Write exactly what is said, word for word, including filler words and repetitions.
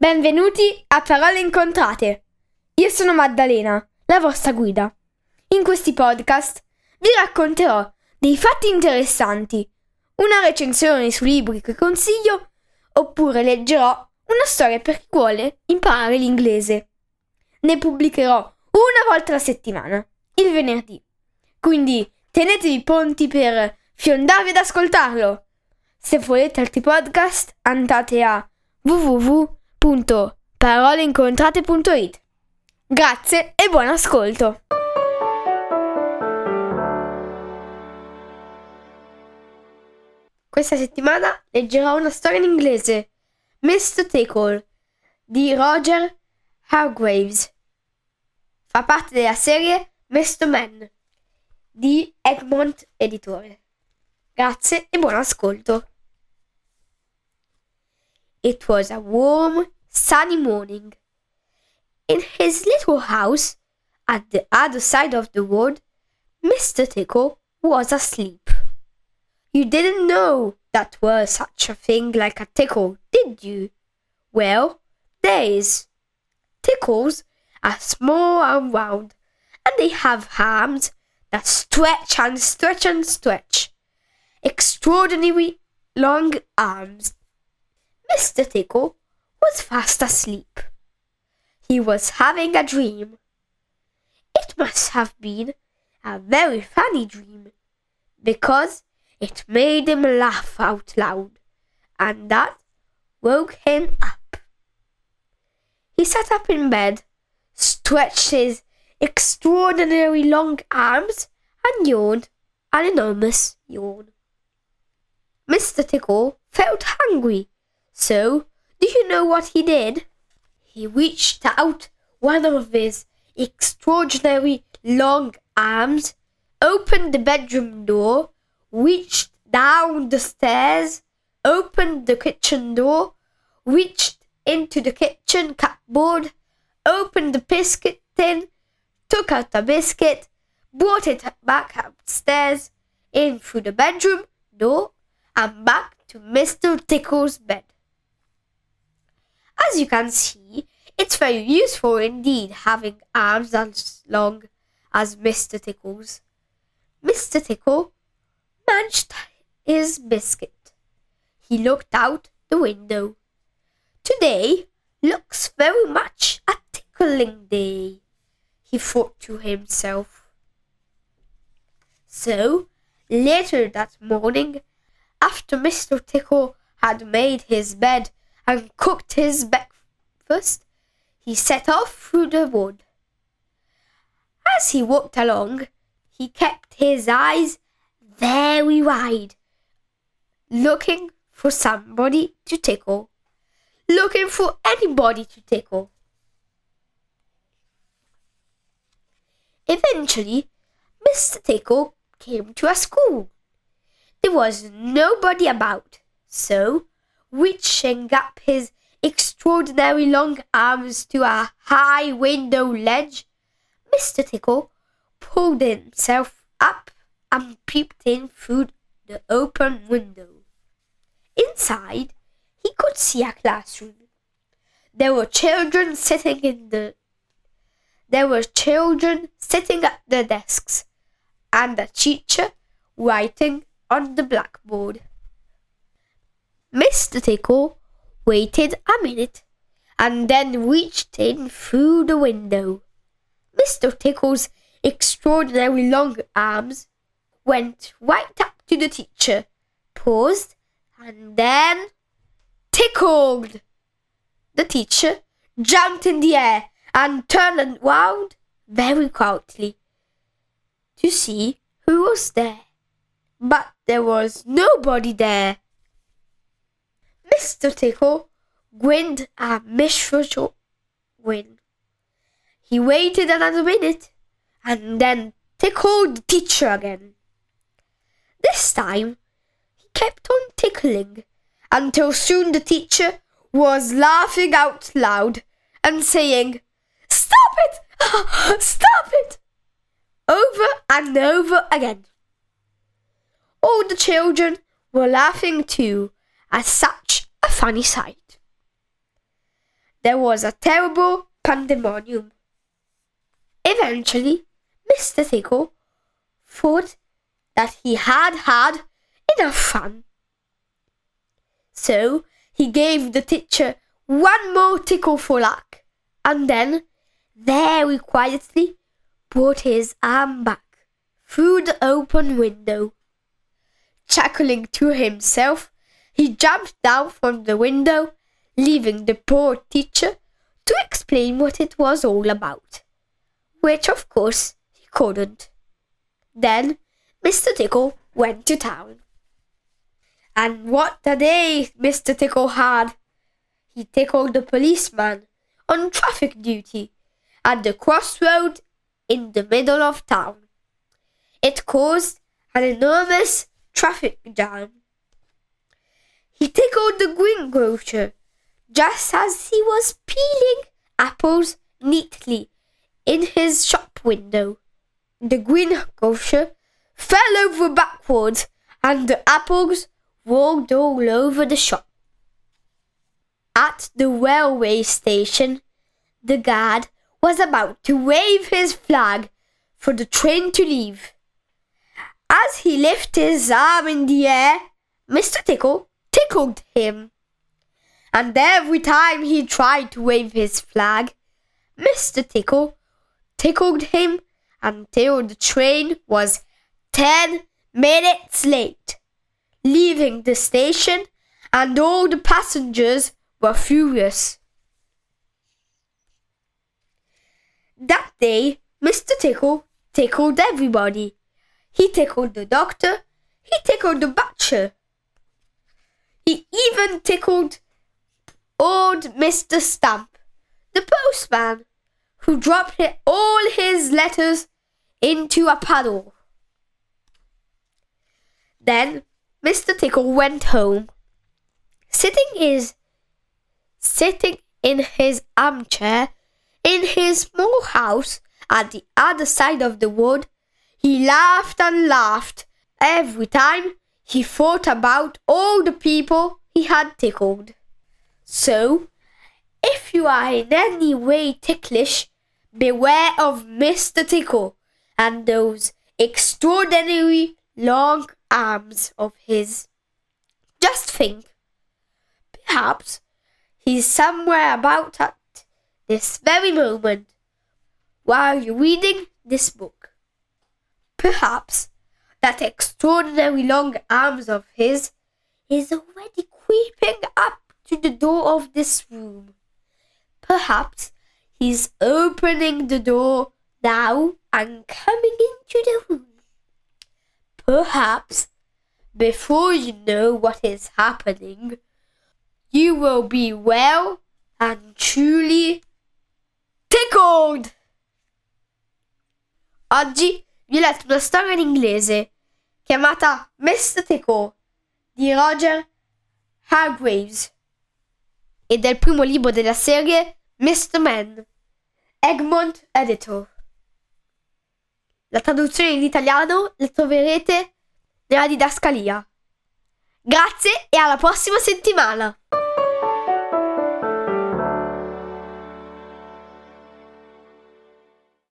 Benvenuti a Parole Incontrate. Io sono Maddalena, la vostra guida. In questi podcast vi racconterò dei fatti interessanti, una recensione su libri che consiglio, oppure leggerò una storia per chi vuole imparare l'inglese. Ne pubblicherò una volta alla settimana, il venerdì. Quindi tenetevi pronti per fiondarvi ad ascoltarlo. Se volete altri podcast, andate a w w w punto parole incontrate punto i t. Grazie e buon ascolto! Questa settimana leggerò una storia in inglese, mister Tickle, di Roger Hargreaves. Fa parte della serie mister Man, di Egmont Editore. Grazie e buon ascolto! It was a warm, sunny morning. In his little house, at the other side of the wood, mister Tickle was asleep. You didn't know that was such a thing like a tickle, did you? Well, there is. Tickles are small and round, and they have arms that stretch and stretch and stretch. Extraordinary long arms. mister Tickle was fast asleep. He was having a dream. It must have been a very funny dream, because it made him laugh out loud, and that woke him up. He sat up in bed, stretched his extraordinary long arms, and yawned an enormous yawn. mister Tickle felt hungry, so do you know what he did? He reached out one of his extraordinary long arms, opened the bedroom door, reached down the stairs, opened the kitchen door, reached into the kitchen cupboard, opened the biscuit tin, took out the biscuit, brought it back upstairs, in through the bedroom door, and back to mister Tickle's bed. As you can see, it's very useful indeed having arms as long as mister Tickle's. mister Tickle munched his biscuit. He looked out the window. Today looks very much a tickling day, he thought to himself. So, later that morning, after mister Tickle had made his bed and cooked his breakfast, he set off through the wood. As he walked along, he kept his eyes very wide, looking for somebody to tickle, looking for anybody to tickle. Eventually, mister Tickle came to a school. There was nobody about, so, reaching up his extraordinary long arms to a high window ledge, mister Tickle pulled himself up and peeped in through the open window. Inside, he could see a classroom. There were children sitting in the There were children sitting at the desks, and a teacher writing on the blackboard. mister Tickle waited a minute, and then reached in through the window. mister Tickle's extraordinary long arms went right up to the teacher, paused, and then tickled. The teacher jumped in the air and turned round very quietly to see who was there. But there was nobody there. mister Tickle grinned a miserable grin. He waited another minute and then tickled the teacher again. This time he kept on tickling until soon the teacher was laughing out loud and saying, "Stop it! Stop it!" over and over again. All the children were laughing too at such a funny sight. there was a terrible pandemonium. Eventually, Mister Tickle thought that he had had enough fun. So he gave the teacher one more tickle for luck, and then, very quietly, brought his arm back through the open window. Chuckling to himself, he jumped down from the window, leaving the poor teacher to explain what it was all about, which of course he couldn't. Then Mister Tickle went to town. And what a day Mister Tickle had! He tickled the policeman on traffic duty at the crossroad in the middle of town. It caused an enormous traffic jam. He tickled the greengrocer just as he was peeling apples neatly in his shop window. The greengrocer fell over backwards and the apples rolled all over the shop. At the railway station, the guard was about to wave his flag for the train to leave. As he lifted his arm in the air, Mister Tickle tickled him. And every time he tried to wave his flag, Mister Tickle tickled him until the train was ten minutes late, leaving the station, and all the passengers were furious. That day, Mister Tickle tickled everybody. He tickled the doctor, he tickled the butcher. He even tickled old Mister Stump, the postman, who dropped all his letters into a puddle. Then Mister Tickle went home. Sitting his sitting in his armchair in his small house at the other side of the wood, he laughed and laughed every time he thought about all the people he had tickled. So, if you are in any way ticklish, beware of Mister Tickle and those extraordinary long arms of his. Just think, perhaps he's somewhere about at this very moment while you're reading this book. Perhaps that extraordinary long arms of his is already creeping up to the door of this room. Perhaps he's opening the door now and coming into the room. Perhaps, before you know what is happening, you will be well and truly tickled! Oggi vi ho letto una storia in inglese chiamata Mister Tickle di Roger Hargreaves ed è il primo libro della serie Mister Man, Egmont Editor. La traduzione in italiano la troverete nella didascalia. Grazie e alla prossima settimana!